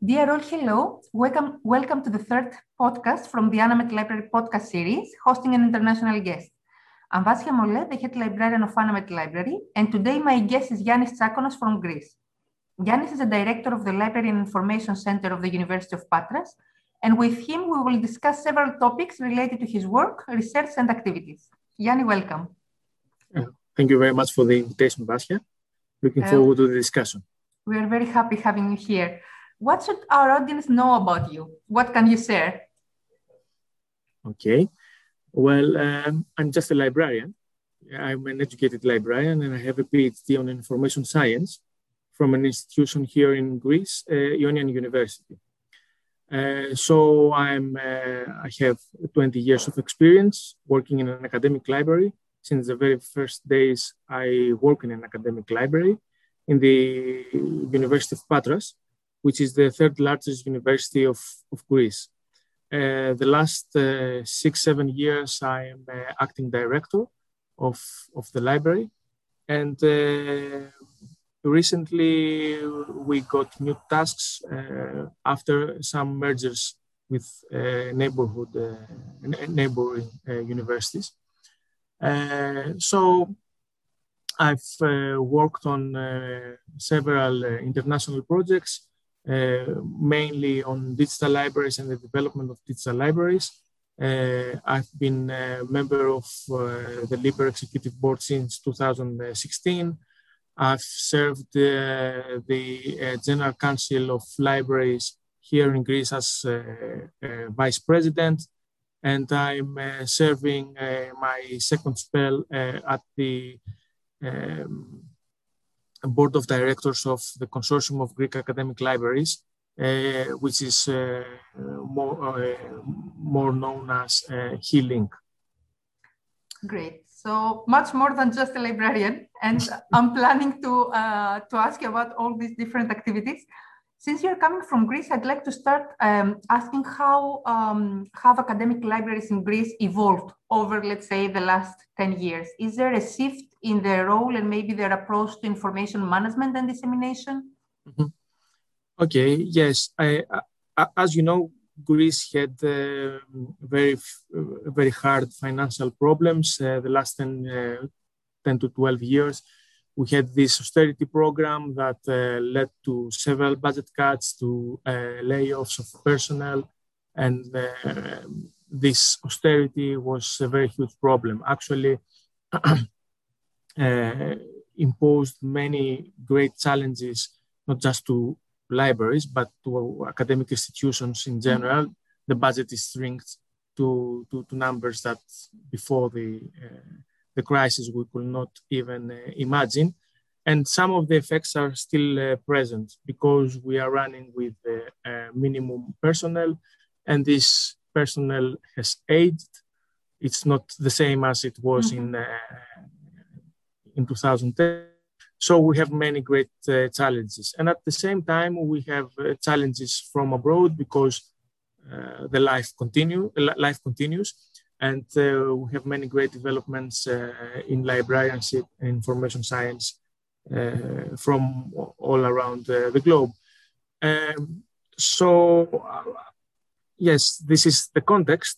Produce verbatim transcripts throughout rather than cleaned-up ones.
Dear all, hello. Welcome, welcome to the third podcast from the Anamet Library podcast series, hosting an international guest. I'm Vasya Mole, the head librarian of Anamet Library, and today my guest is Yannis Tsakonas from Greece. Yannis is the director of the Library and Information Center of the University of Patras, and with him we will discuss several topics related to his work, research, and activities. Yannis, welcome. Uh, thank you very much for the invitation, Vasya. Looking uh, forward to the discussion. We are very happy having you here. What should our audience know about you? What can you share? Okay. Well, um, I'm just a librarian. I'm an educated librarian and I have a PhD on information science from an institution here in Greece, uh, Ionian University. Uh, so I'm, uh, I have twenty years of experience working in an academic library. Since the very first days, I work in an academic library in the University of Patras, which is the third largest university of, of Greece. Uh, the last uh, six, seven years, I am uh, acting director of, of the library. And uh, recently, we got new tasks uh, after some mergers with uh, neighborhood, uh, neighboring uh, universities. Uh, so I've uh, worked on uh, several uh, international projects, Uh, mainly on digital libraries and the development of digital libraries. Uh, I've been a member of uh, the LIBER Executive Board since two thousand sixteen. I've served uh, the uh, General Council of Libraries here in Greece as uh, uh, Vice President, and I'm uh, serving uh, my second spell uh, at the um, Board of Directors of the Consortium of Greek Academic Libraries, uh, which is uh, more, uh, more known as uh, HeLink. Great. So much more than just a librarian. And I'm planning to, uh, to ask you about all these different activities. Since you're coming from Greece, I'd like to start um, asking how um, have academic libraries in Greece evolved over, let's say, the last ten years? Is there a shift in their role and maybe their approach to information management and dissemination? Mm-hmm. Okay, yes. I, I, as you know, Greece had uh, very, very hard financial problems uh, the last ten, uh, ten to twelve years. We had this austerity program that uh, led to several budget cuts, to uh, layoffs of personnel, and uh, this austerity was a very huge problem. Actually, uh, imposed many great challenges, not just to libraries, but to academic institutions in general. Mm-hmm. The budget is shrinked to, to, to numbers that before the uh, the crisis we could not even uh, imagine. And some of the effects are still uh, present because we are running with uh, uh, minimum personnel, and this personnel has aged. It's not the same as it was mm-hmm. in, uh, in two thousand ten. So we have many great uh, challenges. And at the same time, we have uh, challenges from abroad because uh, the life, continue, life continues. And uh, we have many great developments uh, in librarianship and information science uh, from all around uh, the globe. Um, so, uh, yes, this is the context.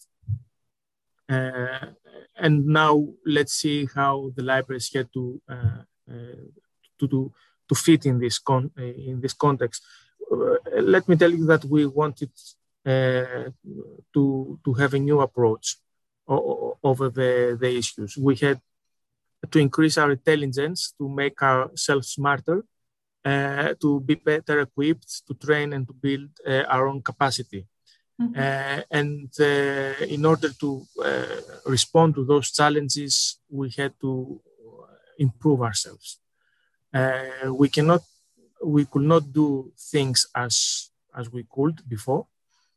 Uh, and now let's see how the libraries get to, uh, uh, to, to, to fit in this, con in this context. Uh, let me tell you that we wanted uh, to, to have a new approach over the, the issues. We had to increase our intelligence, to make ourselves smarter, uh, to be better equipped, to train and to build uh, our own capacity. Mm-hmm. uh, and uh, in order to uh, respond to those challenges, we had to improve ourselves. Uh, we cannot, we could not do things as, as we could before.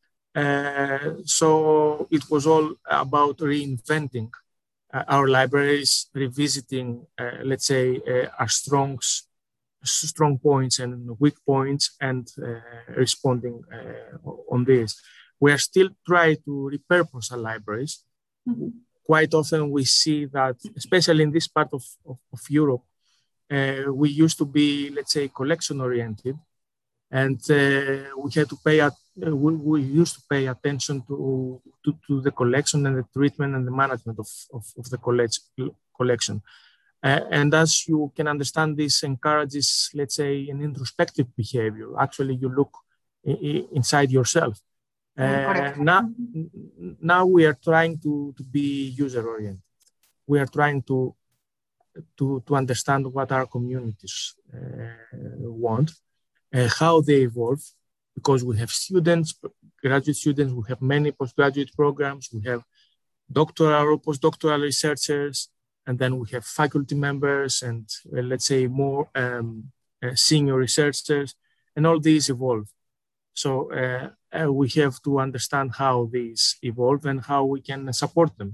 Uh, so it was all about reinventing uh, our libraries, revisiting, uh, let's say, uh, our strong, strong points and weak points, and uh, responding uh, on this. We are still trying to repurpose our libraries. Mm-hmm. Quite often we see that, especially in this part of, of, of Europe, uh, we used to be, let's say, collection-oriented. And uh, we had to pay, at, uh, we, we used to pay attention to, to, to the collection and the treatment and the management of, of, of the collect, collection. Uh, and as you can understand, this encourages, let's say, an introspective behavior. Actually, you look I- inside yourself. Uh, now, now we are trying to, to be user-oriented. We are trying to, to, to understand what our communities uh, want, uh, how they evolve, because we have students, graduate students, we have many postgraduate programs, we have doctoral or postdoctoral researchers, and then we have faculty members and uh, let's say more um, uh, senior researchers, and all these evolve. So uh, uh, we have to understand how these evolve and how we can support them.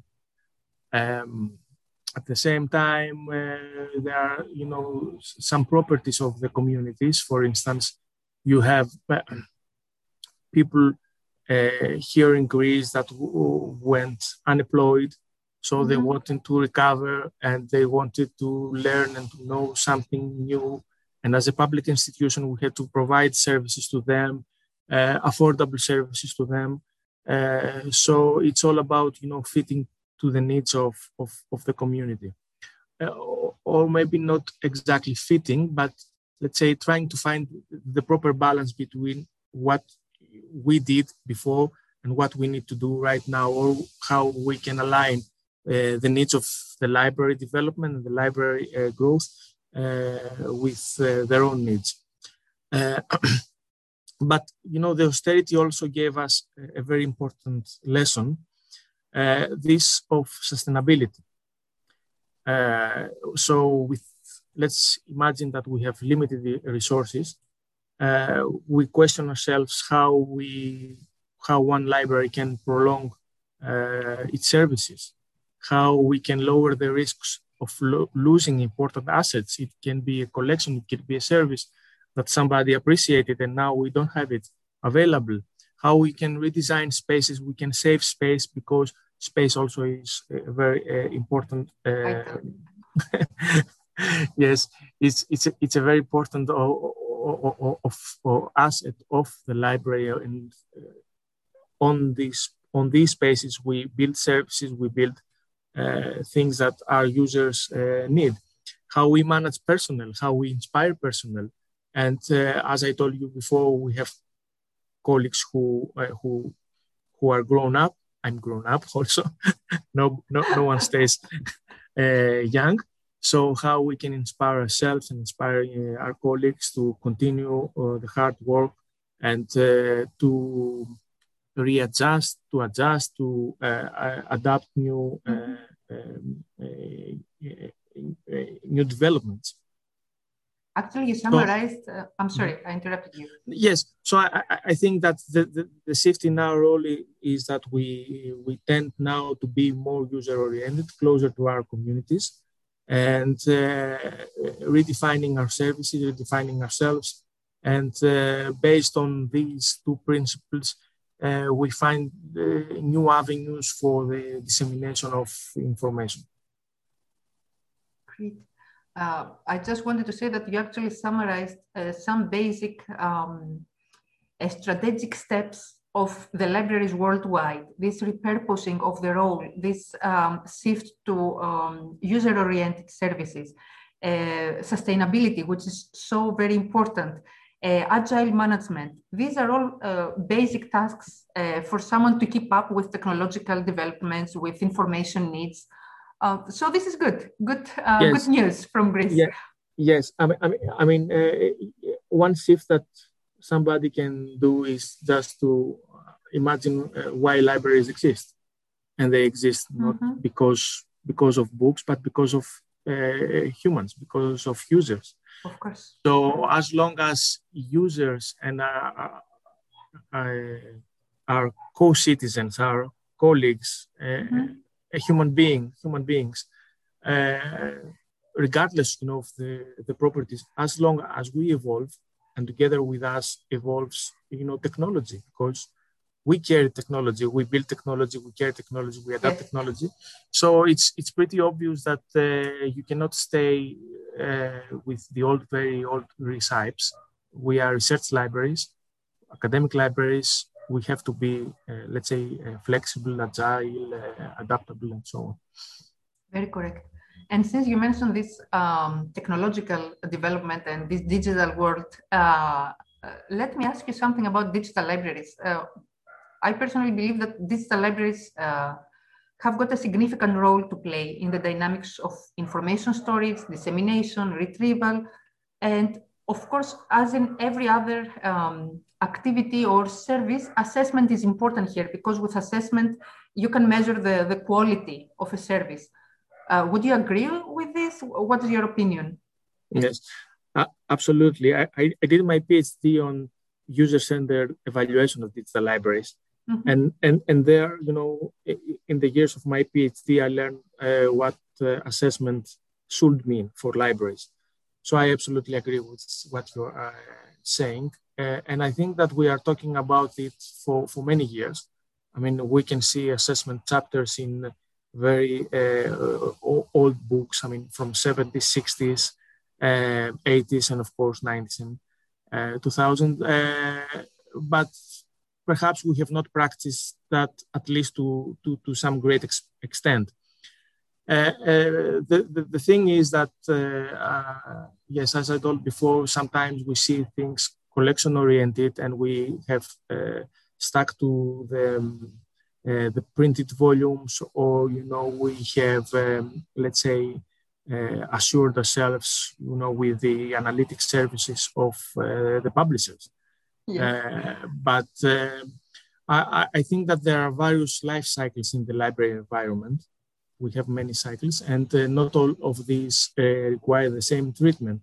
Um, at the same time, uh, there are, you know, some properties of the communities. For instance, you have uh, people uh, here in Greece that w- went unemployed, so mm-hmm. they wanted to recover and they wanted to learn and to know something new. And as a public institution, we had to provide services to them, uh, affordable services to them. Uh, so it's all about, you know, fitting to the needs of, of, of the community. Uh, or, or maybe not exactly fitting, but let's say trying to find the proper balance between what we did before and what we need to do right now, or how we can align uh, the needs of the library development and the library uh, growth uh, with uh, their own needs. Uh, but, you know, the austerity also gave us a very important lesson, uh, this of sustainability. Uh, so with, let's imagine that we have limited resources. Uh, we question ourselves how we, how one library can prolong uh, its services, how we can lower the risks of lo- losing important assets. It can be a collection, it could be a service that somebody appreciated and now we don't have it available. How we can redesign spaces, we can save space, because space also is a very uh, important. Uh, yes, it's it's a, it's a very important uh, Of, of, of asset of the library, and uh, on these on these spaces we build services, we build uh, things that our users uh, need. How we manage personnel, how we inspire personnel, and uh, as I told you before, we have colleagues who uh, who who are grown up. I'm grown up also. no, no, no one stays uh, young. So how we can inspire ourselves and inspire uh, our colleagues to continue uh, the hard work and uh, to readjust, to adjust, to uh, uh, adapt new uh, um, uh, uh, new developments. Actually, you summarized, uh, I'm sorry, I interrupted you. Yes, so I, I think that the, the, the shift in our role is that we, we tend now to be more user-oriented, closer to our communities, and uh, redefining our services, redefining ourselves. And uh, based on these two principles, uh, we find uh, new avenues for the dissemination of information. Great. Uh, I just wanted to say that you actually summarized uh, some basic um, uh, strategic steps of the libraries worldwide, this repurposing of the role, this um, shift to um, user-oriented services, uh, sustainability, which is so very important, uh, agile management. These are all uh, basic tasks uh, for someone to keep up with technological developments, with information needs. Uh, so this is good, good, uh, yes. good news from Greece. Yeah. Yes, I mean, I mean, I mean uh, one shift that somebody can do is just to imagine uh, why libraries exist, and they exist not mm-hmm. because because of books, but because of uh, humans, because of users. Of course. So as long as users and uh, uh, our co-citizens, our colleagues, uh, mm-hmm. a human being, human beings, uh, regardless, you know, of the, the properties, as long as we evolve, and together with us evolves, you know, technology, because we carry technology, we build technology, we carry technology, we adapt yes. technology. So it's it's pretty obvious that uh, you cannot stay uh, with the old, very old recipes. we are research libraries, academic libraries. We have to be, uh, let's say, uh, flexible, agile, uh, adaptable, and so on. Very correct. And since you mentioned this um, technological development and this digital world, uh, uh, let me ask you something about digital libraries. Uh, I personally believe that digital libraries uh, have got a significant role to play in the dynamics of information storage, dissemination, retrieval, and of course, as in every other um, activity or service, assessment is important here, because with assessment, you can measure the, the quality of a service. Uh, would you agree with this? What is your opinion? Yes, uh, absolutely. I, I, I did my PhD on user-centered evaluation of digital libraries. Mm-hmm. And, and, and there, you know, in the years of my PhD, I learned uh, what uh, assessment should mean for libraries. So I absolutely agree with what you're uh, saying. Uh, and I think that we are talking about it for, for many years. I mean, we can see assessment chapters in very uh, old books, I mean, from seventies, sixties, uh, eighties, and of course, nineties and uh, two thousand. Uh, but perhaps we have not practiced that, at least to, to, to some great ex extent. Uh, uh, the, the, the thing is that, uh, uh, yes, as I told before, sometimes we see things collection-oriented and we have uh, stuck to the, um, uh, the printed volumes, or, you know, we have, um, let's say, uh, assured ourselves, you know, with the analytic services of uh, the publishers. Yeah. Uh, but uh, I, I think that there are various life cycles in the library environment. We have many cycles, and uh, not all of these uh, require the same treatment.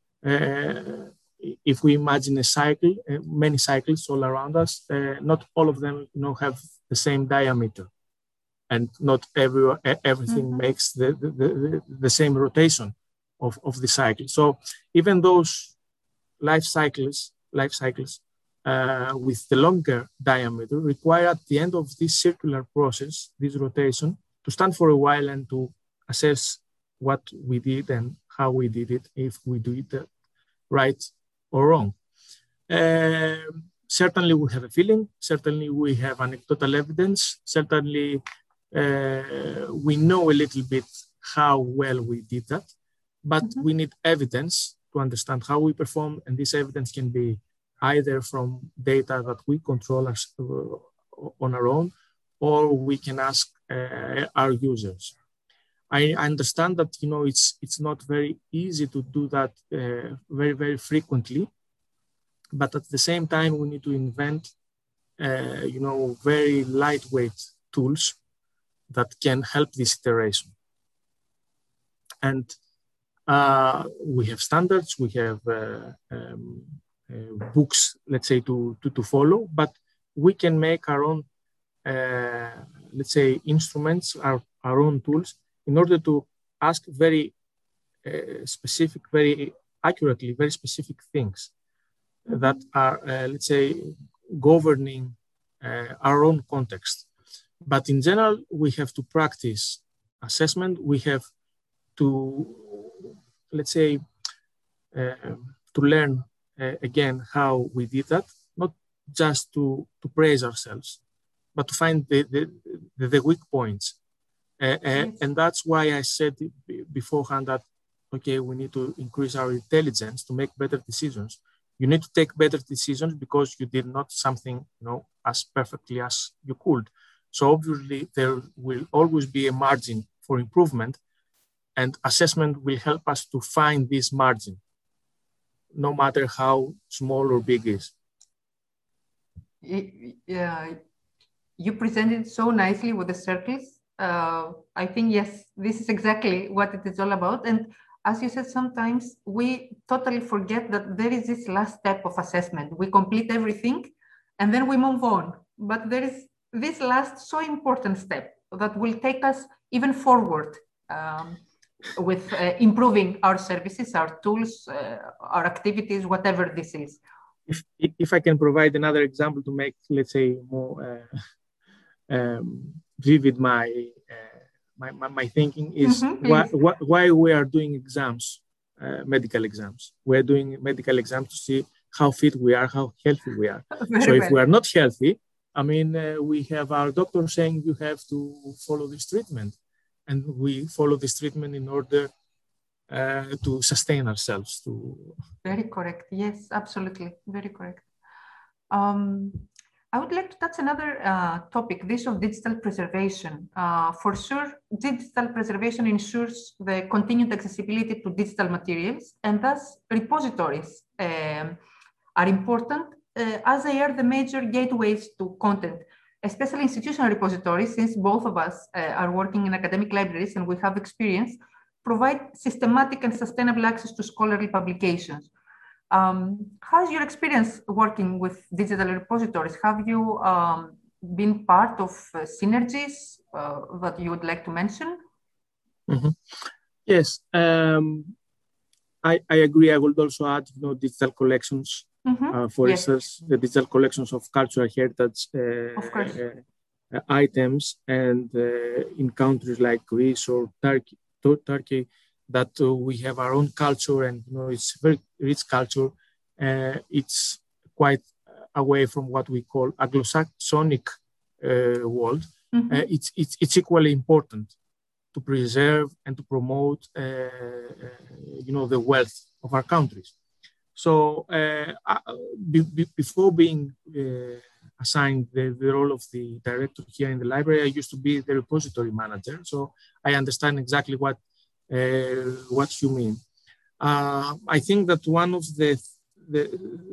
Uh, if we imagine a cycle, uh, many cycles all around us, uh, not all of them, you know, have the same diameter, and not every, everything mm-hmm. makes the, the, the, the same rotation of, of the cycle. So even those life cycles, life cycles uh, with the longer diameter require, at the end of this circular process, this rotation, to stand for a while and to assess what we did and how we did it, if we do it right or wrong. Uh, certainly we have a feeling, certainly we have anecdotal evidence, certainly uh, we know a little bit how well we did that, but mm-hmm. we need evidence to understand how we perform, and this evidence can be either from data that we control as, uh, on our own, or we can ask uh, our users. I understand that, you know, it's it's not very easy to do that uh, very, very frequently, but at the same time, we need to invent, uh, you know, very lightweight tools that can help this iteration. And uh, we have standards, we have uh, um, uh, books, let's say, to, to, to follow, but we can make our own Uh, let's say, instruments, our, our own tools, in order to ask very uh, specific, very accurately, very specific things that are, uh, let's say, governing uh, our own context. But in general, we have to practice assessment. We have to, let's say, uh, to learn uh, again how we did that, not just to, to praise ourselves, but to find the, the, the, the weak points. Uh, uh, and that's why I said beforehand that, okay, we need to increase our intelligence to make better decisions. You need to take better decisions because you did not something, you know, as perfectly as you could. So obviously there will always be a margin for improvement, and assessment will help us to find this margin, no matter how small or big it is. Yeah. You presented so nicely with the circles. Uh, I think, yes, this is exactly what it is all about. And as you said, sometimes we totally forget that there is this last step of assessment. We complete everything and then we move on. But there is this last so important step that will take us even forward um, with uh, improving our services, our tools, uh, our activities, whatever this is. If, if I can provide another example to make, let's say, more uh... Um, vivid my, uh, my, my my thinking is mm-hmm, why, why why we are doing exams, uh, medical exams. We are doing medical exams to see how fit we are, how healthy we are. Very so if well. we are not healthy, I mean, uh, we have our doctor saying you have to follow this treatment, and we follow this treatment in order uh, to sustain ourselves. To Very correct. Yes, absolutely. Very correct. Um, I would like to touch another uh, topic, this of digital preservation. Uh, for sure, digital preservation ensures the continued accessibility to digital materials, and thus repositories um, are important uh, as they are the major gateways to content, especially institutional repositories, since both of us uh, are working in academic libraries and we have experience, provide systematic and sustainable access to scholarly publications. Um, how's your experience working with digital repositories? Have you um, been part of uh, synergies uh, that you would like to mention? Mm-hmm. Yes, um, I, I agree. I would also add, you know, digital collections. Mm-hmm. uh, for yes. instance, the digital collections of cultural heritage uh, of course. Uh, uh, items, and uh, in countries like Greece or Turkey, to Turkey, that uh, we have our own culture, and you know it's very rich culture. Uh, it's quite away from what we call Anglo-Saxonic uh, world. Mm-hmm. uh, it's it's it's equally important to preserve and to promote, uh, uh, you know, the wealth of our countries. So uh, be, be, before being uh, assigned the, the role of the director here in the library, I used to be the repository manager. So I understand exactly what uh, what you mean. Uh, I think that one of the, the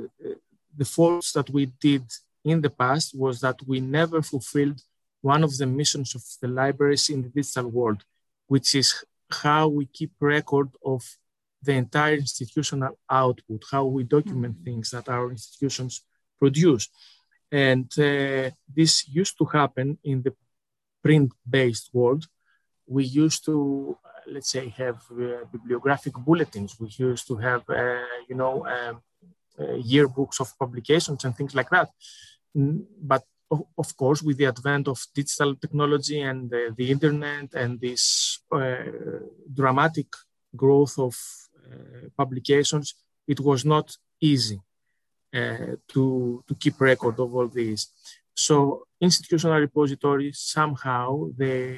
the faults that we did in the past was that we never fulfilled one of the missions of the libraries in the digital world, which is how we keep record of the entire institutional output, how we document mm-hmm. things that our institutions produce. And uh, this used to happen in the print-based world. We used to, uh, let's say, have uh, bibliographic bulletins. We used to have, uh, you know, um, uh, yearbooks of publications and things like that. Mm, but of, of course, with the advent of digital technology and uh, the internet and this uh, dramatic growth of uh, publications, it was not easy uh, to, to keep record of all these. So institutional repositories, somehow, they,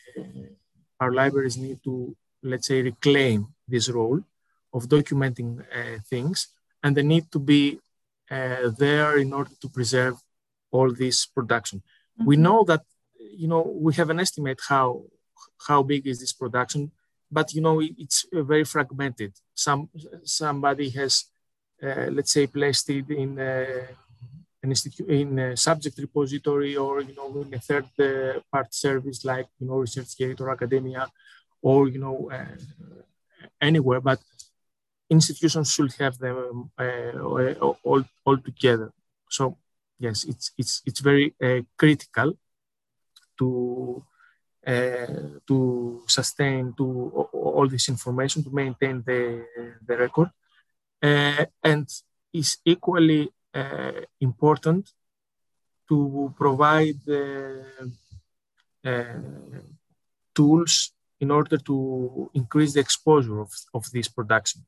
our libraries need to, let's say, reclaim this role of documenting uh, things, and they need to be uh, there in order to preserve all this production. Mm-hmm. We know that, you know, we have an estimate how, how big is this production, but, you know, it's very fragmented. Some, somebody has, uh, let's say, placed it in uh, an institute, in a subject repository, or, you know, in a third uh, party service like, you know, ResearchGate or academia, or, you know, uh, anywhere, but institutions should have them uh, all, all together. So, yes, it's, it's, it's very uh, critical to Uh, to sustain to all this information, to maintain the, the record. Uh, and is equally uh, important to provide uh, uh, tools in order to increase the exposure of, of this production.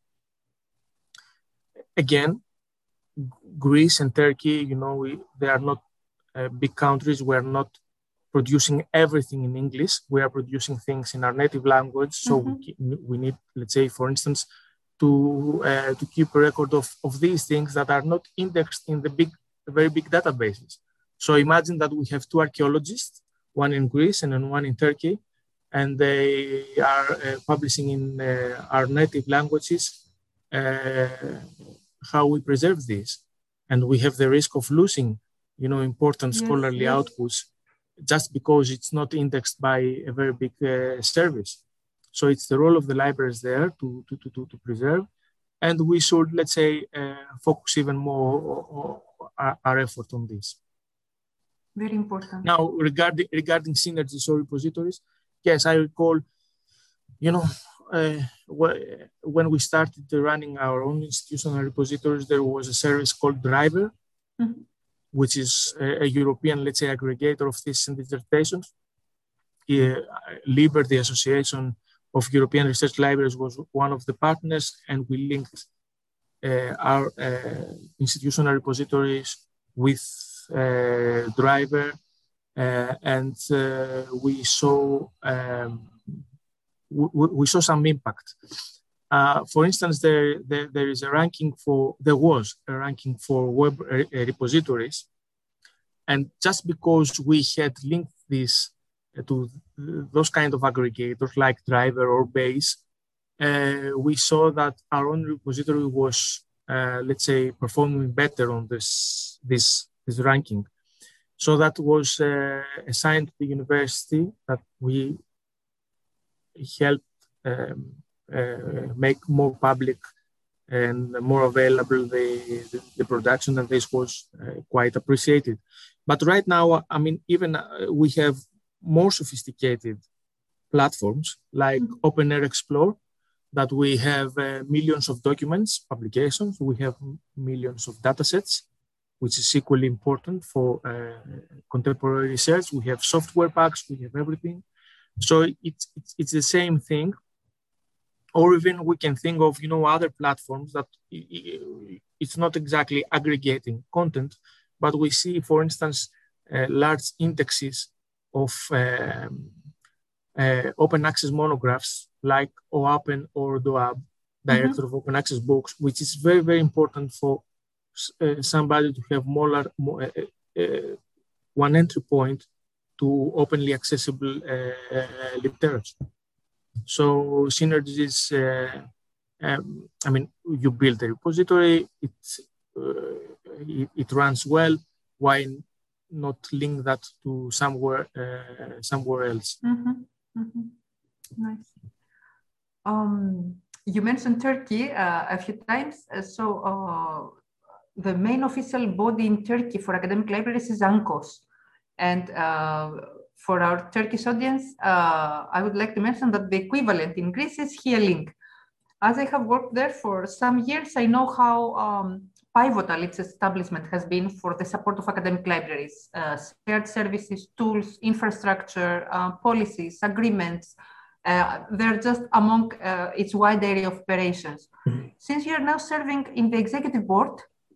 Again, Greece and Turkey, you know, we, they are not uh, big countries. We are not producing everything in English. We are producing things in our native language. So mm-hmm. we, we need, let's say, for instance, to uh, to keep a record of, of these things that are not indexed in the big, very big databases. So imagine that we have two archaeologists, one in Greece and one in Turkey, and they are uh, publishing in uh, our native languages uh, how we preserve this. And we have the risk of losing, you know, important yes, scholarly yes. outputs just because it's not indexed by a very big uh, service. So it's the role of the libraries there to, to, to, to preserve. And we should, let's say, uh, focus even more our, our effort on this. Very important. Now, regarding, regarding synergies or repositories, yes, I recall, you know, uh, when we started running our own institutional repositories, there was a service called Driver, mm-hmm. which is a, a European, let's say, aggregator of theses and dissertations. Uh, LIBER, the Association of European Research Libraries, was one of the partners, and we linked uh, our uh, institutional repositories with uh, driver, uh, and uh, we saw um, we, we saw some impact. Uh, for instance, there, there there is a ranking for there was a ranking for web re- repositories, and just because we had linked this to those kind of aggregators like Driver or Base, uh, we saw that our own repository was, uh, let's say, performing better on this this this ranking. So that was uh, assigned to the university that we helped um, uh, make more public and more available the, the, the production, and this was uh, quite appreciated. But right now, I mean, even uh, we have more sophisticated platforms like mm-hmm. OpenAir Explore, that we have uh, millions of documents, publications, we have millions of datasets, which is equally important for uh, contemporary research. We have software packs, we have everything. So it's, it's, it's the same thing. Or even we can think of, you know, other platforms that it's not exactly aggregating content, but we see, for instance, uh, large indexes of um, uh, open access monographs like OAPN or DOAB, Director mm-hmm. of Open Access Books, which is very, very important for uh, somebody to have more, more uh, uh, one entry point to openly accessible uh, uh, literature. So Synergies, uh, um, I mean, you build a repository, it, uh, it, it runs well. Why not link that to somewhere uh, somewhere else? Mm-hmm. Mm-hmm. Nice. Um, you mentioned Turkey uh, a few times. Uh, so uh, the main official body in Turkey for academic libraries is ANKOS. And uh, for our Turkish audience, uh, I would like to mention that the equivalent in Greece is HeaLink. As I have worked there for some years, I know how um, pivotal its establishment has been for the support of academic libraries, uh, shared services, tools, infrastructure, uh, policies, agreements. Uh, they're just among uh, its wide area of operations. Mm-hmm. Since you're now serving in the executive board,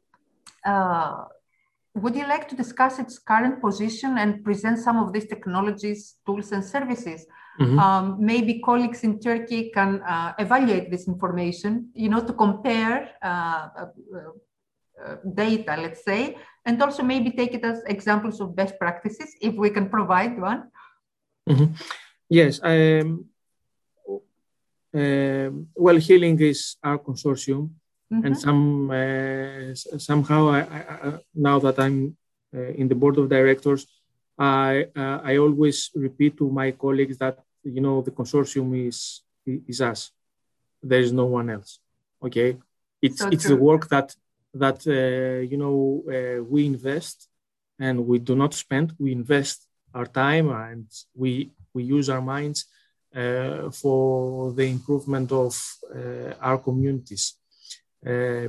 uh, would you like to discuss its current position and present some of these technologies, tools, and services? Mm-hmm. Um, maybe colleagues in Turkey can uh, evaluate this information, you know, to compare uh, uh, uh, data, let's say, and also maybe take it as examples of best practices, if we can provide one. Mm-hmm. Yes. Um, uh, well, HeaLink is our consortium. Mm-hmm. And some uh, somehow, I, I, now that I'm uh, in the board of directors, I uh, I always repeat to my colleagues that, you know, the consortium is is us. There is no one else. Okay, it's so it's true. The work that that uh, you know uh, we invest, and we do not spend. We invest our time, and we we use our minds uh, for the improvement of uh, our communities. Uh,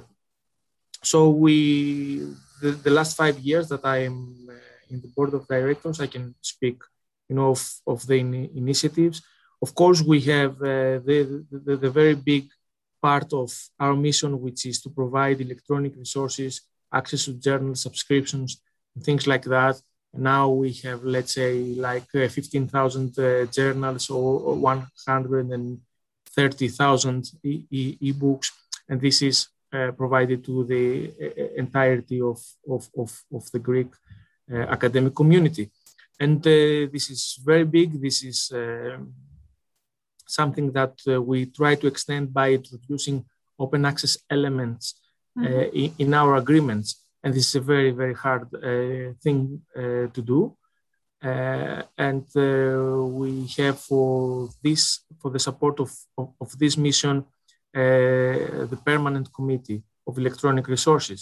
so we, the, the last five years that I am uh, in the board of directors, I can speak, you know, of, of the in- initiatives. Of course, we have uh, the, the, the very big part of our mission, which is to provide electronic resources, access to journal subscriptions, and things like that. Now we have, let's say, like uh, fifteen thousand uh, journals or, or one hundred thirty thousand e- e- e-books. And this is uh, provided to the uh, entirety of, of, of, of the Greek uh, academic community. And uh, this is very big. This is uh, something that uh, we try to extend by introducing open access elements uh, mm-hmm. in, in our agreements. And this is a very, very hard uh, thing uh, to do. Uh, and uh, we have for this, for the support of, of, of this mission, Uh, the Permanent Committee of Electronic Resources.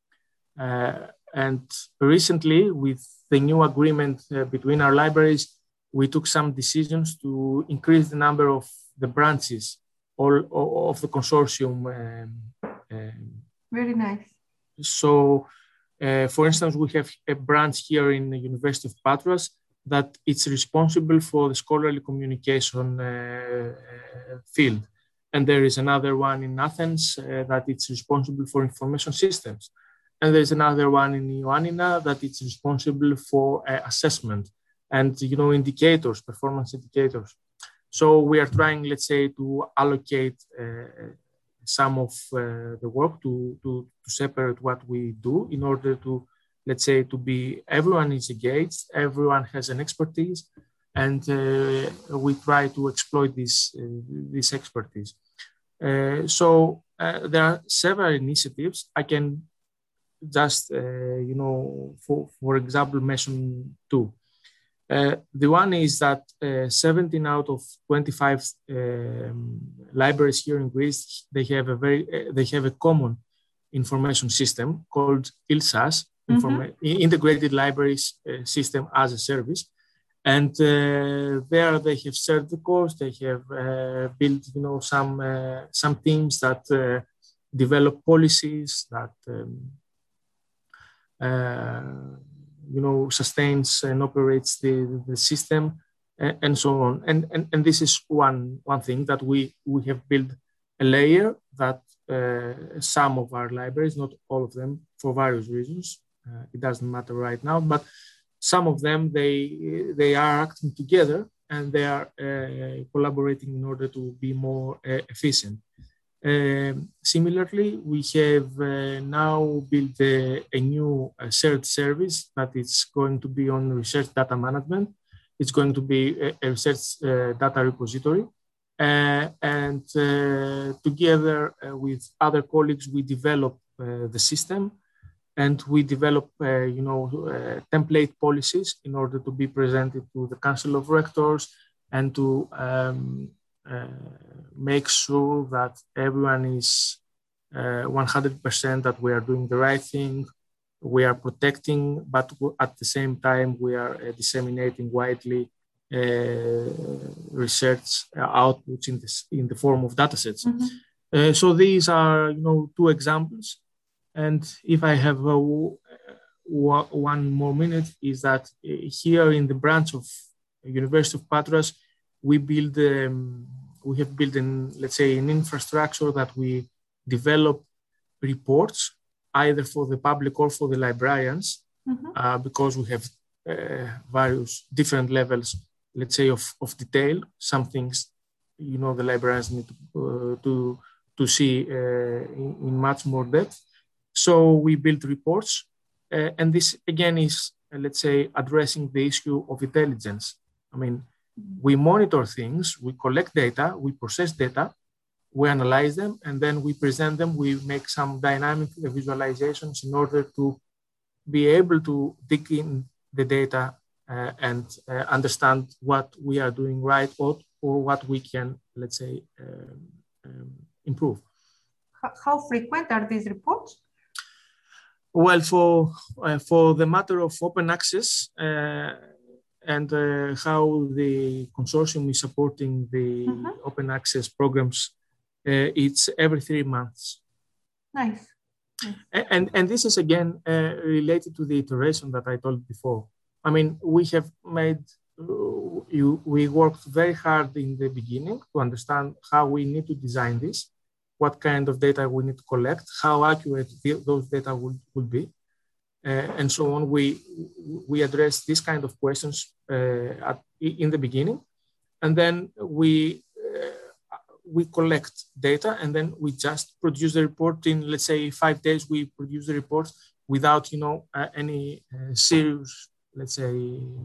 Uh, and recently, with the new agreement uh, between our libraries, we took some decisions to increase the number of the branches all, all of the consortium. Um, um, Very nice. So, uh, for instance, we have a branch here in the University of Patras that it's responsible for the scholarly communication uh, field. And there is another one in Athens uh, that it's responsible for information systems. And there's another one in Ioannina that it's responsible for uh, assessment and, you know, indicators, performance indicators. So we are trying, let's say, to allocate uh, some of uh, the work to, to, to separate what we do in order to, let's say, to be, everyone is engaged, everyone has an expertise, and uh, we try to exploit this, uh, this expertise. Uh, so uh, there are several initiatives. I can just, uh, you know, for, for example, mention two. Uh, the one is that uh, seventeen out of twenty-five um, libraries here in Greece, they have a very, uh, they have a common information system called ILSAS, mm-hmm. Integrated Libraries uh, System as a Service. And uh, there they have served the course. They have uh, built, you know, some uh, some teams that uh, develop policies that um, uh, you know, sustains and operates the, the system, and, and so on. And, and and this is one one thing that we we have built a layer that uh, some of our libraries, not all of them, for various reasons, uh, it doesn't matter right now, but some of them, they, they are acting together and they are uh, collaborating in order to be more uh, efficient. Uh, similarly, we have uh, now built a, a new uh, shared service that is going to be on research data management. It's going to be a, a research uh, data repository. Uh, and uh, together uh, with other colleagues, we develop uh, the system. And we develop, uh, you know, uh, template policies in order to be presented to the Council of Rectors and to um, uh, make sure that everyone is uh, one hundred percent that we are doing the right thing, we are protecting, but at the same time, we are uh, disseminating widely uh, research outputs in, this, in the form of datasets. Mm-hmm. Uh, so these are, you know, two examples. And if I have uh, one more minute, is that here in the branch of University of Patras, we build, um, we have built, in, let's say, an infrastructure that we develop reports either for the public or for the librarians, mm-hmm. uh, because we have uh, various different levels, let's say, of, of detail. Some things, you know, the librarians need to, uh, to, to see uh, in, in much more depth. So we build reports, uh, and this again is, uh, let's say, addressing the issue of intelligence. I mean, we monitor things, we collect data, we process data, we analyze them, and then we present them. We make some dynamic visualizations in order to be able to dig in the data uh, and uh, understand what we are doing right or, or what we can, let's say, um, um, improve. How frequent are these reports? Well, for uh, for the matter of open access uh, and uh, how the consortium is supporting the mm-hmm. open access programs, uh, it's every three months. Nice. nice. And, and this is again uh, related to the iteration that I told before. I mean, we have made, uh, you, we worked very hard in the beginning to understand how we need to design this, what kind of data we need to collect, how accurate the, those data will, will be, uh, and so on. We, we address these kind of questions uh, at, in the beginning, and then we, uh, we collect data, and then we just produce the report in, let's say, five days, we produce the report without, you know, uh, any uh, serious, let's say,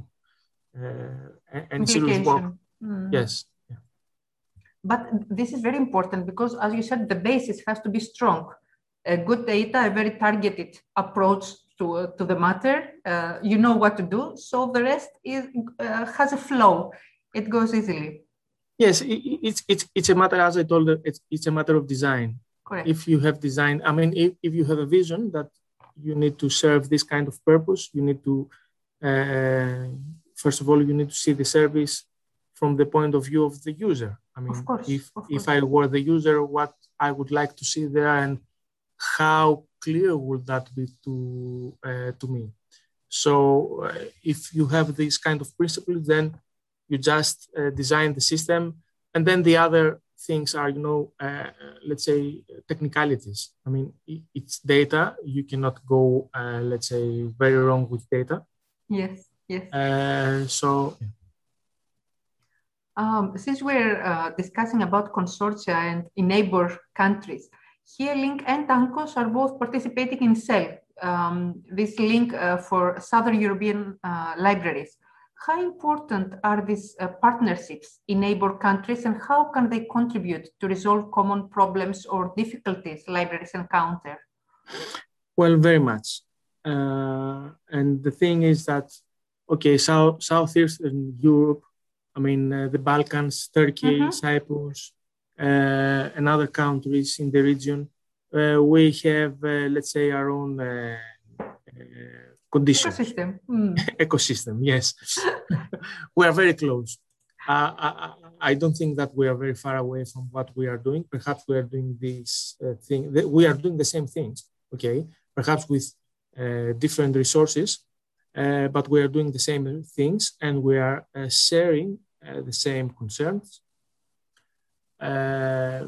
uh, any serious work. Mm. Yes. But this is very important because, as you said, the basis has to be strong. A good data, a very targeted approach to, uh, to the matter. Uh, you know what to do. So the rest is, uh, has a flow. It goes easily. Yes, it, it's, it's, it's a matter, as I told you, it's, it's a matter of design. Correct. If you have design, I mean, if, if you have a vision that you need to serve this kind of purpose, you need to, uh, first of all, you need to see the service from the point of view of the user. I mean, of course, if, of if I were the user, what I would like to see there and how clear would that be to, uh, to me. So uh, if you have these kind of principles, then you just uh, design the system. And then the other things are, you know, uh, let's say technicalities. I mean, it's data. You cannot go, uh, let's say, very wrong with data. Yes, yes. Uh, so. Um, since we're uh, discussing about consortia and in neighbor countries, here Link and ANCOS are both participating in C E L, um, this link uh, for Southern European uh, libraries. How important are these uh, partnerships in neighbor countries, and how can they contribute to resolve common problems or difficulties libraries encounter? Well, very much. Uh, and the thing is that, okay, South, Southeastern Europe, I mean, uh, the Balkans, Turkey, mm-hmm. Cyprus, uh, and other countries in the region, uh, we have, uh, let's say, our own uh, uh, conditions. Ecosystem. Mm. Ecosystem, yes. We are very close. Uh, I, I don't think that we are very far away from what we are doing. Perhaps we are doing this uh, thing. We are doing the same things, okay? Perhaps with uh, different resources. Uh, but we are doing the same things, and we are uh, sharing uh, the same concerns. Uh,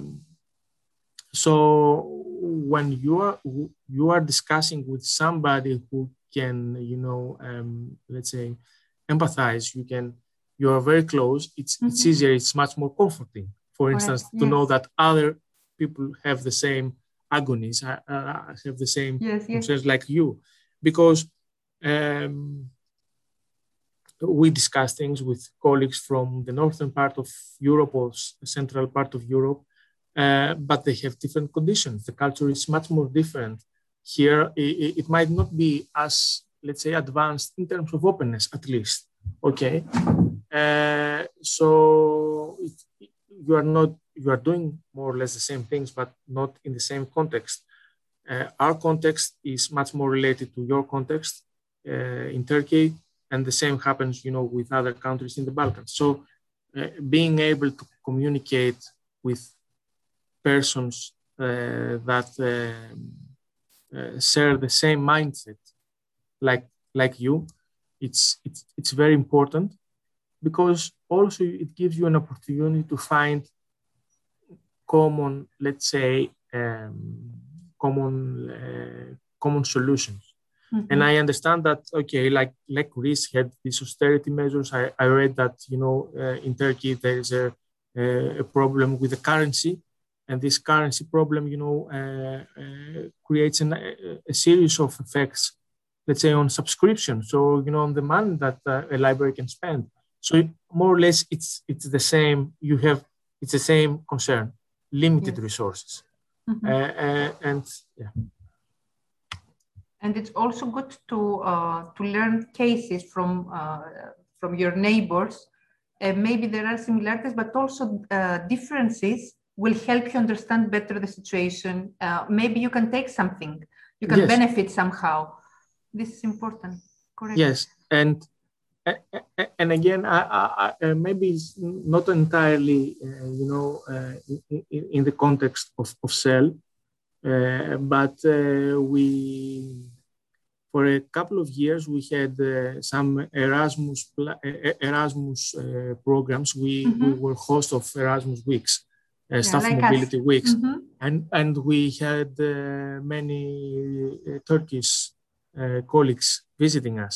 so when you are you are discussing with somebody who can, you know, um, let's say, empathize, you can, you are very close. It's mm-hmm. it's easier. It's much more comforting. For Correct. instance, Yes. to know that other people have the same agonies, uh, have the same yes, concerns yes. like you, because. Um, we discuss things with colleagues from the northern part of Europe or central part of Europe, uh, but they have different conditions. The culture is much more different. Here, it, it might not be as, let's say, advanced in terms of openness, at least. Okay, uh, so it, you are not you are doing more or less the same things, but not in the same context. Uh, our context is much more related to your context. Uh, in Turkey, and the same happens, you know, with other countries in the Balkans. So, uh, being able to communicate with persons uh, that uh, uh, share the same mindset, like like you, it's it's it's very important, because also it gives you an opportunity to find common, let's say, um, common uh, common solutions. Mm-hmm. And I understand that, okay, like, like Greece had these austerity measures. I, I read that, you know, uh, in Turkey, there is a, a problem with the currency. And this currency problem, you know, uh, uh, creates an, a, a series of effects, let's say, on subscription. So, you know, on the money that uh, a library can spend. So it, more or less, it's it's the same. You have, it's the same concern, limited yes. resources. Mm-hmm. uh, uh, and yeah. And it's also good to uh, to learn cases from uh, from your neighbors. Uh, maybe there are similarities, but also uh, differences will help you understand better the situation. Uh, maybe you can take something, you can yes. benefit somehow. This is important. Correct. Yes, and and again, I, I, I, maybe it's not entirely, uh, you know, uh, in, in the context of, of C E L. Uh, but uh, we, for a couple of years, we had uh, some Erasmus uh, Erasmus uh, programs. We, mm-hmm. we were host of Erasmus Weeks, uh, yeah, Staff like Mobility us. Weeks, mm-hmm. and and we had uh, many uh, Turkish uh, colleagues visiting us.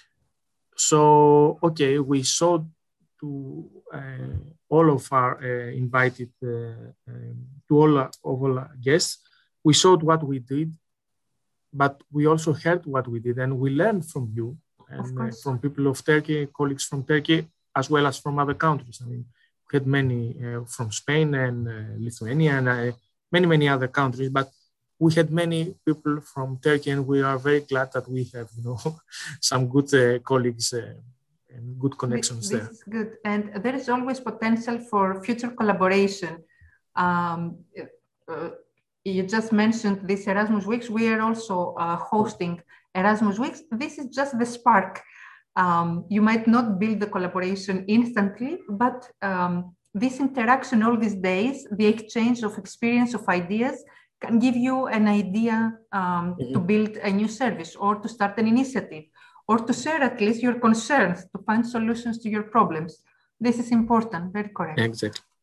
So okay, we showed to uh, all of our uh, invited uh, um, to all of all our guests. We showed what we did, but we also heard what we did, and we learned from you and uh, from people of Turkey, colleagues from Turkey, as well as from other countries. I mean, we had many uh, from Spain and uh, Lithuania and uh, many, many other countries, but we had many people from Turkey, and we are very glad that we have, you know, some good uh, colleagues uh, and good connections this, there. This is good, and there is always potential for future collaboration. Um, uh, You just mentioned this Erasmus Weeks. We are also uh, hosting Erasmus Weeks. This is just the spark. Um, you might not build the collaboration instantly, but um, this interaction all these days, the exchange of experience, of ideas, can give you an idea um, mm-hmm. to build a new service or to start an initiative or to share at least your concerns, to find solutions to your problems. This is important, very correct. Exactly.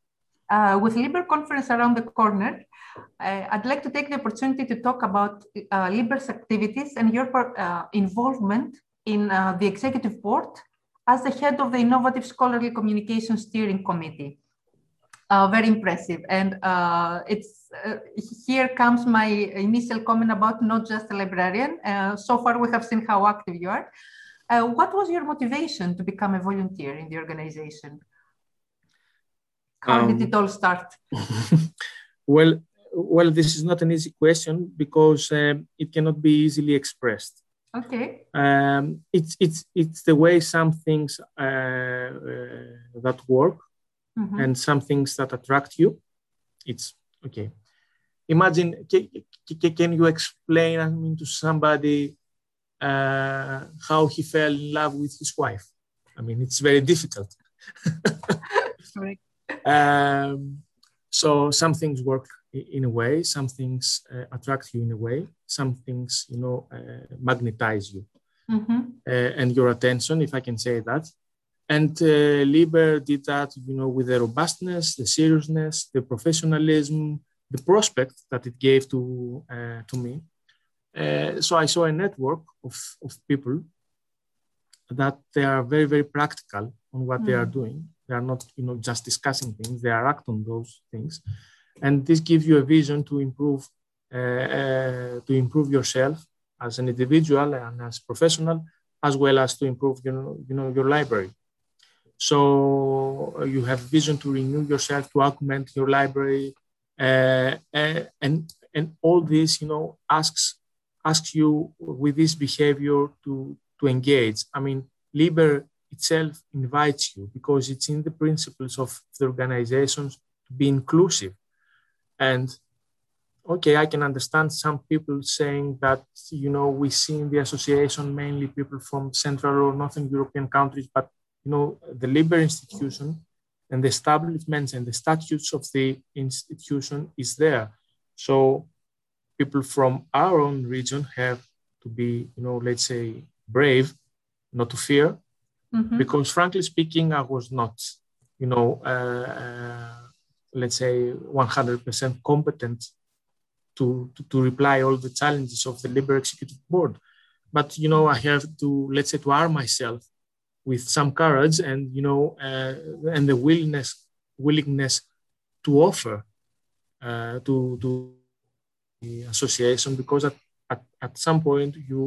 Uh, with Liber conference around the corner, uh, I'd like to take the opportunity to talk about uh, Liber's activities and your uh, involvement in uh, the executive board as the head of the Innovative Scholarly Communication Steering Committee. Uh, very impressive. And uh, it's uh, here comes my initial comment about not just a librarian. Uh, so far, we have seen how active you are. Uh, what was your motivation to become a volunteer in the organization? How um, did it all start? well, well, this is not an easy question because um, it cannot be easily expressed. Okay. Um, it's it's it's the way some things uh, uh, that work. Mm-hmm. And some things that attract you. It's okay. Imagine, can, can you explain, I mean, to somebody uh, how he fell in love with his wife? I mean, it's very difficult. um, so some things work in a way, some things uh, attract you in a way, some things, you know, uh, magnetize you mm-hmm. uh, and your attention, if I can say that. And uh, Liber did that, you know, with the robustness, the seriousness, the professionalism, the prospect that it gave to uh, to me. Uh, so I saw a network of, of people that they are very, very practical on what mm. they are doing. They are not, you know, just discussing things. They are acting on those things, and this gives you a vision to improve uh, uh, to improve yourself as an individual and as professional, as well as to improve, you know, you know, your library. So you have vision to renew yourself, to augment your library, uh, and and all this, you know, asks asks you with this behavior to to engage. I mean, Liber itself invites you because it's in the principles of the organizations to be inclusive. And okay, I can understand some people saying that, you know, we see in the association mainly people from Central or Northern European countries, but you know, the Liber institution and the establishments and the statutes of the institution is there. So people from our own region have to be, you know, let's say, brave, not to fear, mm-hmm. because frankly speaking, I was not, you know, uh, uh, let's say, one hundred percent competent to, to, to reply all the challenges of the Liber Executive Board. But, you know, I have to, let's say, to arm myself with some courage and, you know, uh, and the willingness, willingness to offer uh, to, to the association, because at, at, at some point you,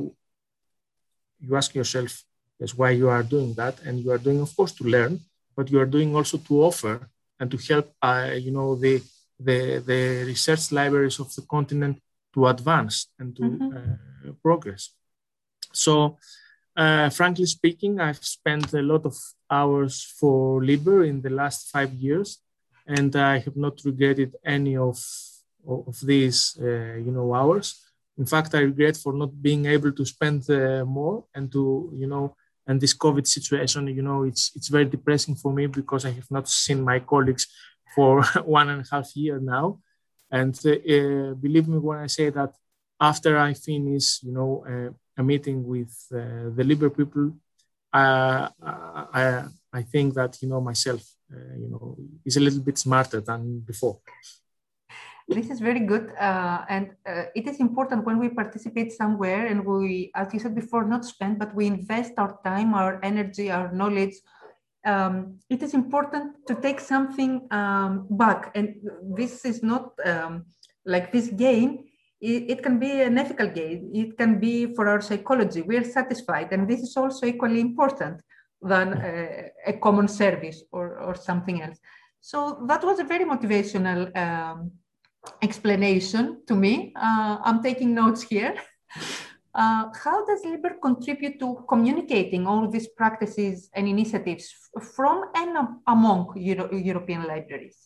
you ask yourself, yes, why you are doing that. And you are doing, of course, to learn, but you are doing also to offer and to help, uh, you know, the, the, the research libraries of the continent to advance and to mm-hmm. uh, progress. So, Uh, frankly speaking, I've spent a lot of hours for Liber in the last five years, and I have not regretted any of, of these, uh, you know, hours. In fact, I regret for not being able to spend uh, more and to, you know, and this COVID situation, you know, it's, it's very depressing for me because I have not seen my colleagues for one and a half year now. And uh, uh, believe me when I say that after I finish, you know, uh, a meeting with uh, the Liber people, uh, I, I think that, you know, myself, uh, you know, is a little bit smarter than before. This is very good. Uh, and uh, it is important when we participate somewhere and we, as you said before, not spend, but we invest our time, our energy, our knowledge. Um, it is important to take something um, back. And this is not um, like this gain. It can be an ethical gain. It can be for our psychology. We are satisfied. And this is also equally important than a, a common service or, or something else. So that was a very motivational um, explanation to me. Uh, I'm taking notes here. Uh, how does Liber contribute to communicating all these practices and initiatives from and among Euro European libraries?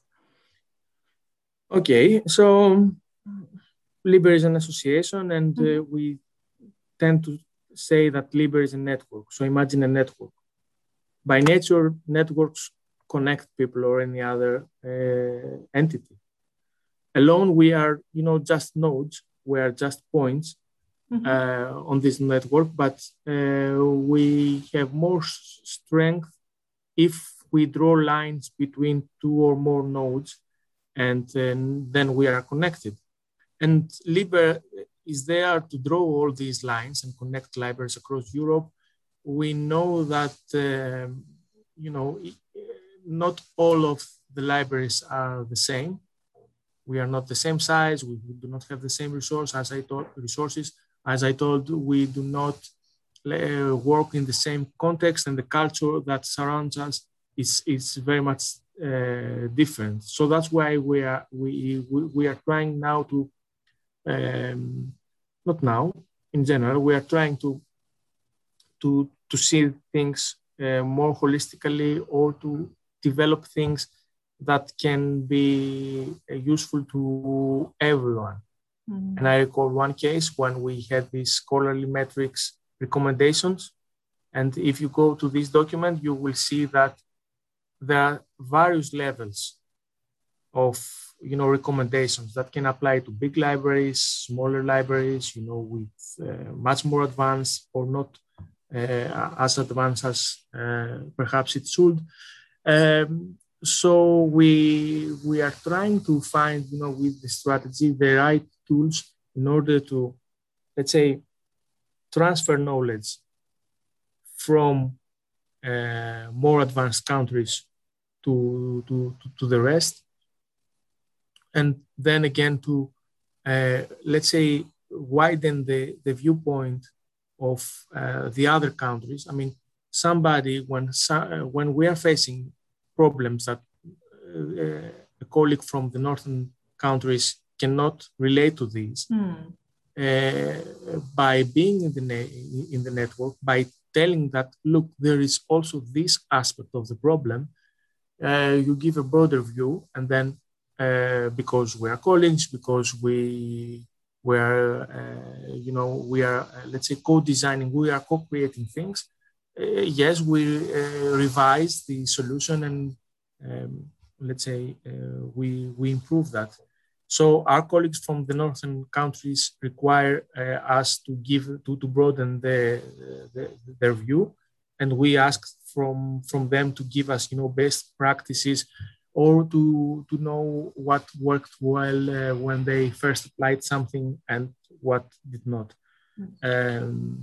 Okay, so Liber is an association, and uh, mm-hmm. we tend to say that Liber is a network. So imagine a network. By nature, networks connect people or any other uh, entity. Alone, we are, you know, just nodes. We are just points mm-hmm. uh, on this network, but uh, we have more strength if we draw lines between two or more nodes and uh, then we are connected. And Liber is there to draw all these lines and connect libraries across Europe. We know that, uh, you know, not all of the libraries are the same. We are not the same size. We do not have the same resource as I told, resources. As I told, we do not uh, work in the same context, and the culture that surrounds us is, is very much uh, different. So that's why we are, we, we, we are trying now to, um, not now, in general, we are trying to, to, to see things uh, more holistically, or to develop things that can be uh, useful to everyone. Mm-hmm. And I recall one case when we had these scholarly metrics recommendations. And if you go to this document, you will see that there are various levels of, you know, recommendations that can apply to big libraries, smaller libraries, you know, with uh, much more advanced or not uh, as advanced as uh, perhaps it should. Um, so we we are trying to find, you know, with the strategy, the right tools in order to, let's say, transfer knowledge from uh, more advanced countries to, to, to the rest. And then again to, uh, let's say, widen the, the viewpoint of uh, the other countries. I mean, somebody, when, when we are facing problems that uh, a colleague from the northern countries cannot relate to these, mm. uh, by being in the, ne- in the network, by telling that, look, there is also this aspect of the problem, uh, you give a broader view, and then uh, because we are colleagues, because we were, uh, you know, we are, uh, let's say, co-designing, we are co-creating things. Uh, yes, we uh, revise the solution, and um, let's say uh, we we improve that. So our colleagues from the northern countries require uh, us to give to, to broaden the, the, their view, and we ask from from them to give us, you know, best practices, or to to know what worked well uh, when they first applied something and what did not. Um,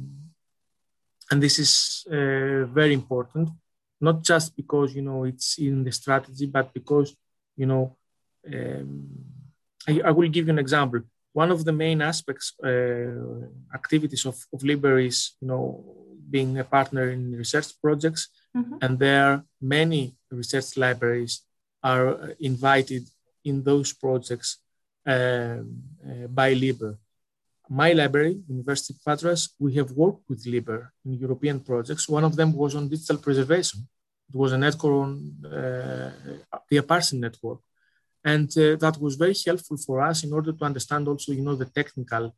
and this is uh, very important, not just because, you know, it's in the strategy, but because, you know, um, I, I will give you an example. One of the main aspects, uh, activities of, of Liber is, you know, being a partner in research projects, mm-hmm. and there are many research libraries are invited in those projects um, uh, by Liber. My library, University of Patras, we have worked with Liber in European projects. One of them was on digital preservation. It was a network on uh, the Aparsin network. And uh, that was very helpful for us in order to understand also, you know, the technical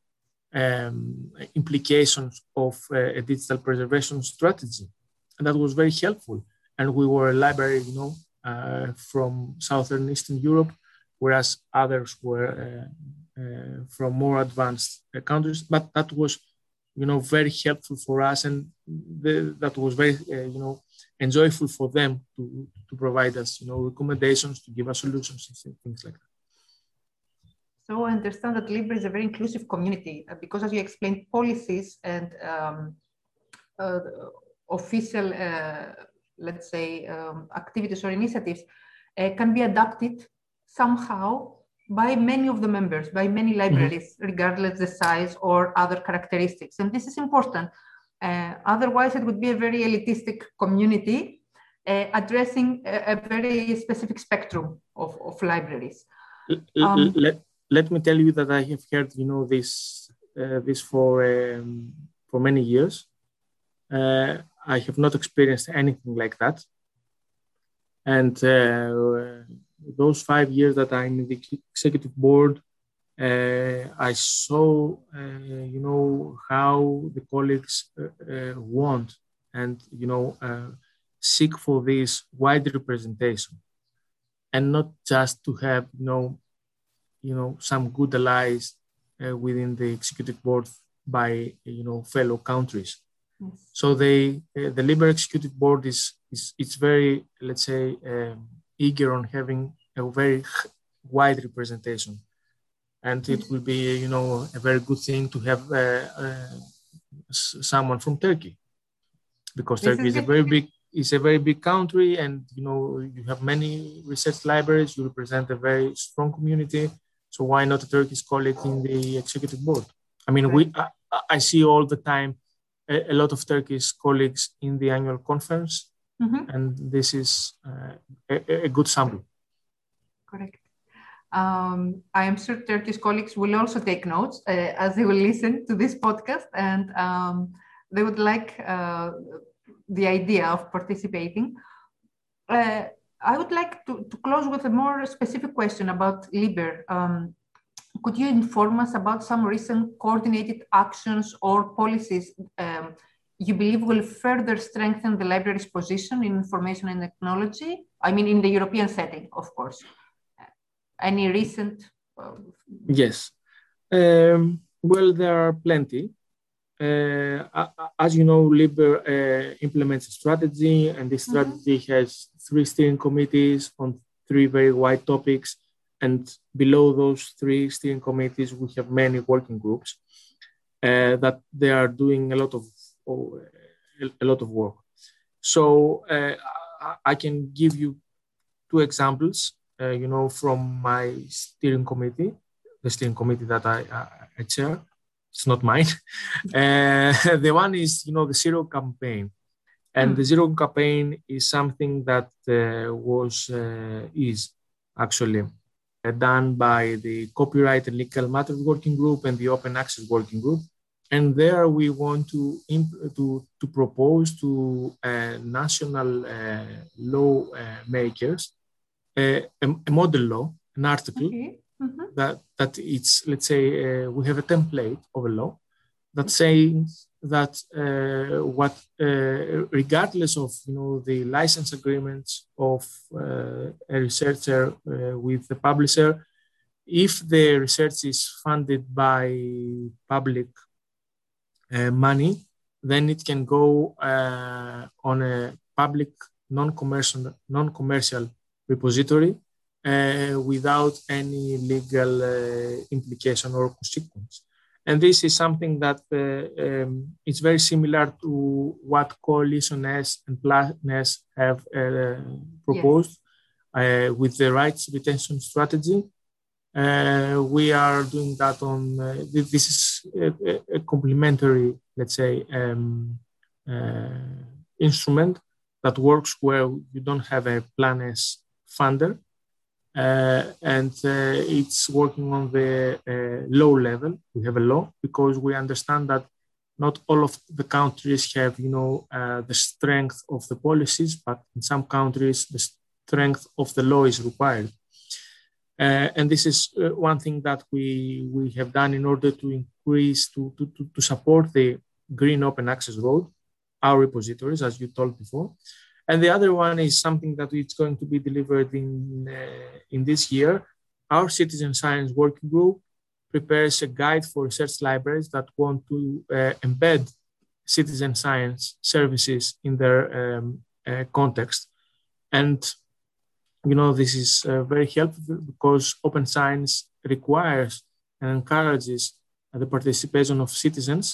um, implications of uh, a digital preservation strategy. And that was very helpful. And we were a library, you know, uh, from Southern Eastern Europe, whereas others were uh, uh, from more advanced uh, countries. But that was, you know, very helpful for us. And the, that was very, uh, you know, enjoyable for them to, to provide us, you know, recommendations, to give us solutions and things like that. So I understand that Liber is a very inclusive community uh, because, as you explained, policies and um, uh, official, uh, let's say, um, activities or initiatives uh, can be adapted somehow by many of the members, by many libraries, mm-hmm. regardless the size or other characteristics. And this is important. Uh, otherwise, it would be a very elitistic community uh, addressing a, a very specific spectrum of, of libraries. Um, let, let me tell you that I have heard, you know, this uh, this for um, for many years. Uh, I have not experienced anything like that. And uh, those five years that I'm in the executive board, Uh, I saw, uh, you know, how the colleagues uh, uh, want and, you know, uh, seek for this wide representation, and not just to have, you know, you know, some good allies uh, within the executive board by, you know, fellow countries. Yes. So they, uh, the Liber executive board is, is it's very, let's say, um, eager on having a very wide representation. And it will be, you know, a very good thing to have uh, uh, someone from Turkey, because this Turkey is, is a very big, is a very big country, and you know you have many research libraries. You represent a very strong community, so why not a Turkish colleague in the executive board? I mean, right. we I, I see all the time a, a lot of Turkish colleagues in the annual conference, mm-hmm. and this is uh, a, a good sample. Correct. Um, I am sure Turkish colleagues will also take notes uh, as they will listen to this podcast, and um, they would like uh, the idea of participating. Uh, I would like to, to close with a more specific question about LIBER. Um, could you inform us about some recent coordinated actions or policies um, you believe will further strengthen the library's position in information and technology? I mean, in the European setting, of course. Any recent? Uh, yes. Um, well, there are plenty. Uh, as you know, LIBER uh, implements a strategy, and this strategy mm-hmm. has three steering committees on three very wide topics. And below those three steering committees, we have many working groups uh, that they are doing a lot of oh, a lot of work. So uh, I can give you two examples. Uh, you know, from my steering committee, the steering committee that I, I, I chair. It's not mine. Uh, the one is, you know, the Zero campaign. And mm. the Zero campaign is something that uh, was, uh, is actually uh, done by the Copyright and Legal Matters Working Group and the Open Access Working Group. And there we want to, imp- to, to propose to uh, national uh, law uh, makers uh, a, a model law, an article, okay. Mm-hmm. that, that it's, let's say, uh, we have a template of a law that says that uh, what, uh, regardless of, you know, the license agreements of uh, a researcher uh, with the publisher, if the research is funded by public uh, money, then it can go uh, on a public non-commercial, non-commercial repository uh, without any legal uh, implication or consequence. And this is something that uh, um, is very similar to what Coalition S and Plan S have uh, proposed yes. uh, with the rights retention strategy. Uh, we are doing that on, uh, this is a, a complementary, let's say, um, uh, instrument that works where you don't have a Plan S funder, uh, and uh, it's working on the uh, low level. We have a law because we understand that not all of the countries have, you know, uh, the strength of the policies, but in some countries the strength of the law is required. Uh, and this is uh, one thing that we we have done in order to increase to to to, to support the Green Open Access Road, our repositories, as you told before. And the other one is something that is going to be delivered in, uh, in this year. Our Citizen Science Working Group prepares a guide for research libraries that want to uh, embed citizen science services in their um, uh, context. And, you know, this is uh, very helpful because open science requires and encourages uh, the participation of citizens.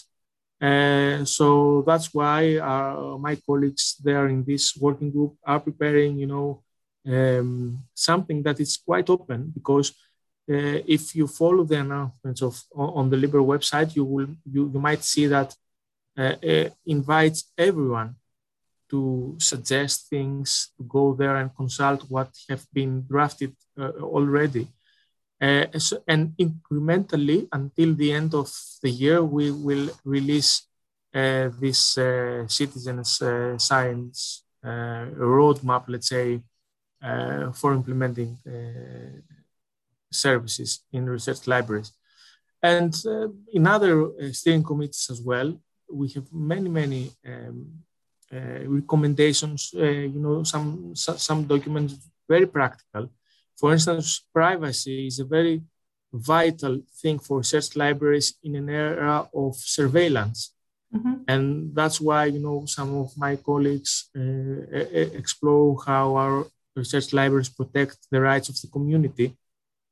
Uh, so that's why our, my colleagues there in this working group are preparing, you know, um, something that is quite open, because uh, if you follow the announcements of on the LIBER website, you will you, you might see that uh, uh, invites everyone to suggest things, to go there and consult what have been drafted uh, already. Uh, so, and incrementally, until the end of the year, we will release uh, this uh, citizens uh, science uh, roadmap, let's say, uh, for implementing uh, services in research libraries. And uh, in other uh, steering committees as well, we have many, many um, uh, recommendations, uh, you know, some, some documents, very practical. For instance, privacy is a very vital thing for research libraries in an era of surveillance. Mm-hmm. And that's why, you know, some of my colleagues uh, explore how our research libraries protect the rights of the community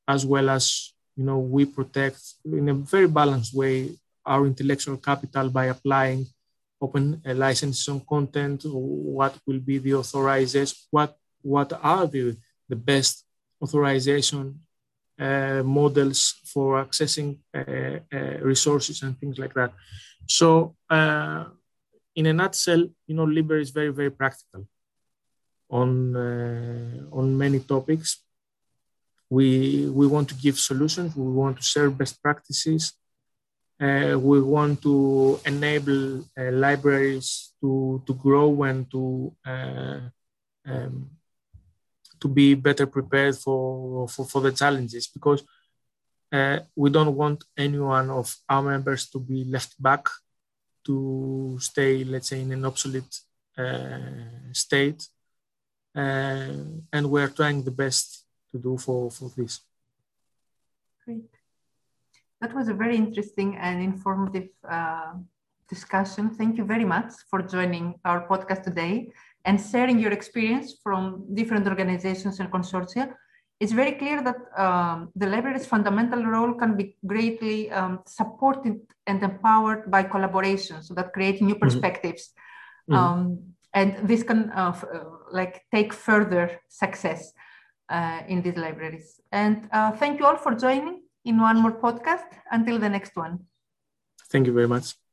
as well as, you know, we protect in a very balanced way our intellectual capital by applying open uh, licenses on content, what will be the authorization, what, what are the, the best authorization uh, models for accessing uh, uh, resources and things like that. So uh, in a nutshell, you know, Liber is very, very practical on, uh, on many topics. We, we want to give solutions, we want to share best practices, uh, we want to enable uh, libraries to, to grow and to, uh, um, to be better prepared for, for, for the challenges, because uh, we don't want any one of our members to be left back, to stay, let's say, in an obsolete uh, state. Uh, and we're trying the best to do for, for this. Great. That was a very interesting and informative uh, discussion. Thank you very much for joining our podcast today and sharing your experience from different organizations and consortia. It's very clear that um, the library's fundamental role can be greatly um, supported and empowered by collaboration, so that creates new perspectives. Mm-hmm. Um, and this can uh, f- uh, like take further success uh, in these libraries. And uh, thank you all for joining in one more podcast. Until the next one. Thank you very much.